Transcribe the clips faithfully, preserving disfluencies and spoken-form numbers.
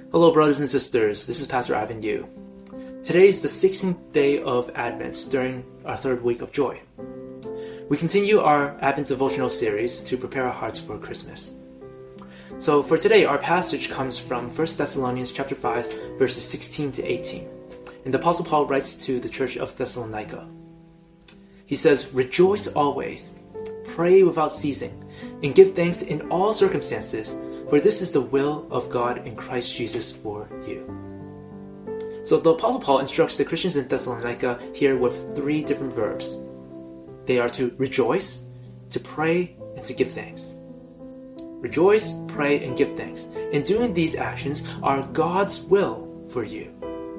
Hello, brothers and sisters. This is Pastor Ivan Yu. Today is the sixteenth day of Advent during our third week of joy. We continue our Advent devotional series to prepare our hearts for Christmas. So for today, our passage comes from First Thessalonians chapter five, verses sixteen to eighteen. And the Apostle Paul writes to the church of Thessalonica. He says, "Rejoice always, pray without ceasing, and give thanks in all circumstances, for this is the will of God in Christ Jesus for you." So the Apostle Paul instructs the Christians in Thessalonica here with three different verbs. They are to rejoice, to pray, and to give thanks. Rejoice, pray, and give thanks. And doing these actions are God's will for you.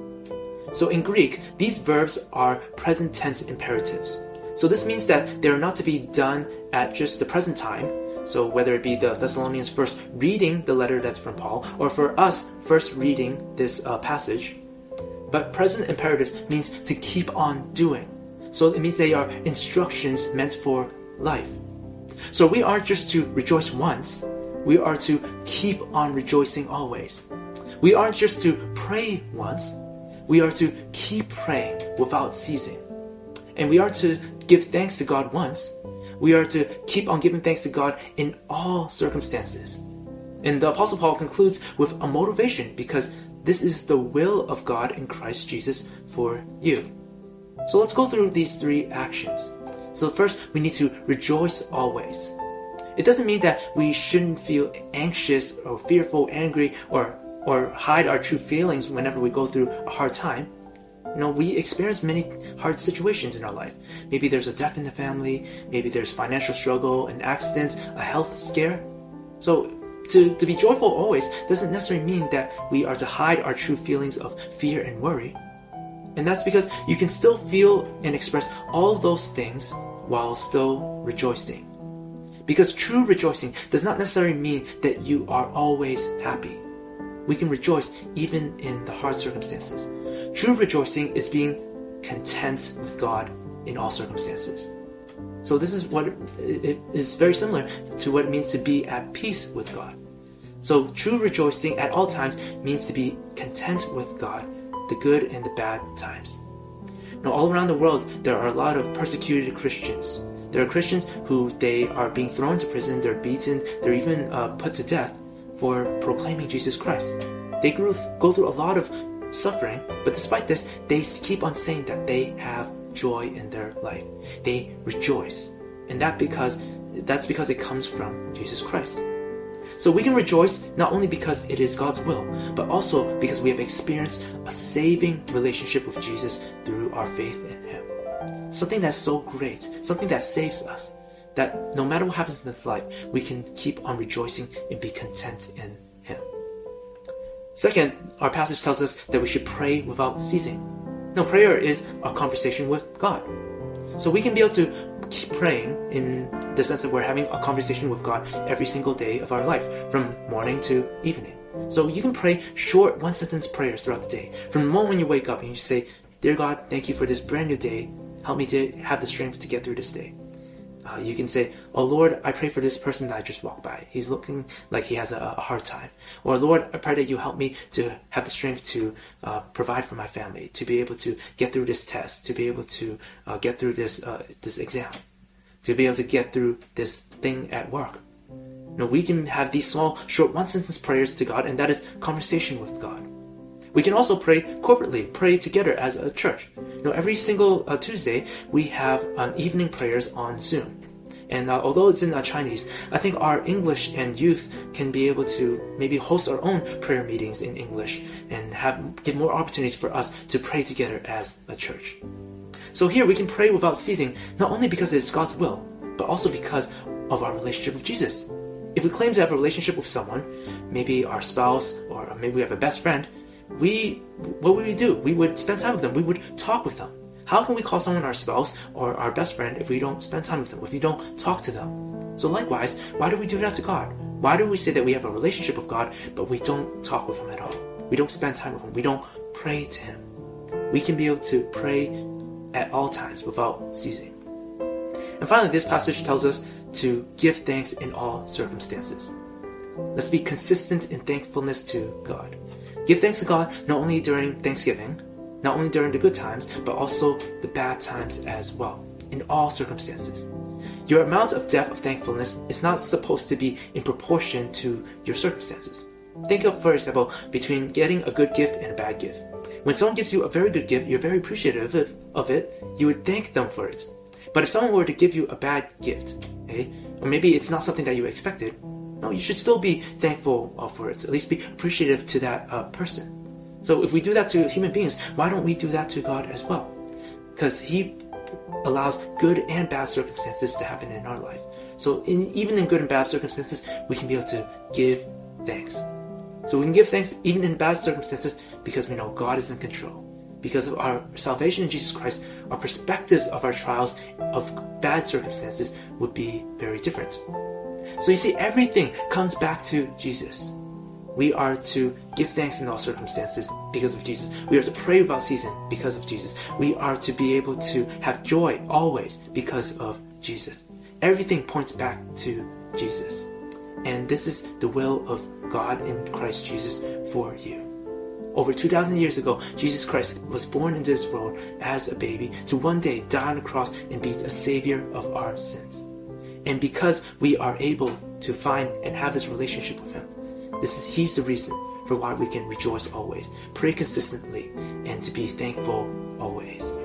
So in Greek, these verbs are present tense imperatives. So this means that they are not to be done at just the present time. So whether it be the Thessalonians first reading the letter that's from Paul, or for us first reading this uh, passage. But present imperatives means to keep on doing. So it means they are instructions meant for life. So we aren't just to rejoice once, we are to keep on rejoicing always. We aren't just to pray once, we are to keep praying without ceasing. And we are to give thanks to God once, we are to keep on giving thanks to God in all circumstances. And the Apostle Paul concludes with a motivation because this is the will of God in Christ Jesus for you. So let's go through these three actions. So first, we need to rejoice always. It doesn't mean that we shouldn't feel anxious or fearful, angry, or, or hide our true feelings whenever we go through a hard time. You know, we experience many hard situations in our life. Maybe there's a death in the family, maybe there's financial struggle, an accident, a health scare. So to, to be joyful always doesn't necessarily mean that we are to hide our true feelings of fear and worry. And that's because you can still feel and express all of those things while still rejoicing. Because true rejoicing does not necessarily mean that you are always happy. We can rejoice even in the hard circumstances. True rejoicing is being content with God in all circumstances. So this is what it is very similar to what it means to be at peace with God. So true rejoicing at all times means to be content with God, the good and the bad times. Now, all around the world, there are a lot of persecuted Christians. There are Christians who they are being thrown to prison, they're beaten, they're even uh, put to death for proclaiming Jesus Christ. They go through a lot of suffering, but despite this, they keep on saying that they have joy in their life. They rejoice. And that because that's because it comes from Jesus Christ. So we can rejoice not only because it is God's will, but also because we have experienced a saving relationship with Jesus through our faith in Him. Something that's so great, something that saves us, that no matter what happens in this life, we can keep on rejoicing and be content in Him. Second, our passage tells us that we should pray without ceasing. Now, prayer is a conversation with God. So we can be able to keep praying in the sense that we're having a conversation with God every single day of our life, from morning to evening. So you can pray short one-sentence prayers throughout the day. From the moment you wake up and you say, "Dear God, thank you for this brand new day. Help me to have the strength to get through this day." Uh, you can say, "Oh Lord, I pray for this person that I just walked by. He's looking like he has a, a hard time." Or, "Lord, I pray that you help me to have the strength to uh, provide for my family, to be able to get through this test, to be able to uh, get through this uh, this exam, to be able to get through this thing at work." You know, we can have these small, short, one-sentence prayers to God, and that is conversation with God. We can also pray corporately, pray together as a church. You know, every single uh, Tuesday, we have uh, evening prayers on Zoom. And uh, although it's in uh, Chinese, I think our English and youth can be able to maybe host our own prayer meetings in English and have give more opportunities for us to pray together as a church. So here we can pray without ceasing, not only because it's God's will, but also because of our relationship with Jesus. If we claim to have a relationship with someone, maybe our spouse, or maybe we have a best friend, we what would we do? We would spend time with them. We would talk with them. How can we call someone our spouse or our best friend if we don't spend time with them, if we don't talk to them? So likewise, why do we do that to God? Why do we say that we have a relationship with God, but we don't talk with Him at all? We don't spend time with Him. We don't pray to Him. We can be able to pray at all times without ceasing. And finally, this passage tells us to give thanks in all circumstances. Let's be consistent in thankfulness to God. Give thanks to God not only during Thanksgiving, not only during the good times, but also the bad times as well, in all circumstances. Your amount of depth of thankfulness is not supposed to be in proportion to your circumstances. Think of, for example, between getting a good gift and a bad gift. When someone gives you a very good gift, you're very appreciative of it, you would thank them for it. But if someone were to give you a bad gift, okay, or maybe it's not something that you expected, no, you should still be thankful for it, at least be appreciative to that uh, person. So if we do that to human beings, why don't we do that to God as well? Because He allows good and bad circumstances to happen in our life. So in, even in good and bad circumstances, we can be able to give thanks. So we can give thanks even in bad circumstances because we know God is in control. Because of our salvation in Jesus Christ, our perspectives of our trials of bad circumstances would be very different. So you see, everything comes back to Jesus. We are to give thanks in all circumstances because of Jesus. We are to pray without ceasing because of Jesus. We are to be able to have joy always because of Jesus. Everything points back to Jesus. And this is the will of God in Christ Jesus for you. Over two thousand years ago, Jesus Christ was born into this world as a baby to one day die on the cross and be a savior of our sins. And because we are able to find and have this relationship with Him, this is He's the reason for why we can rejoice always, pray consistently, and to be thankful always.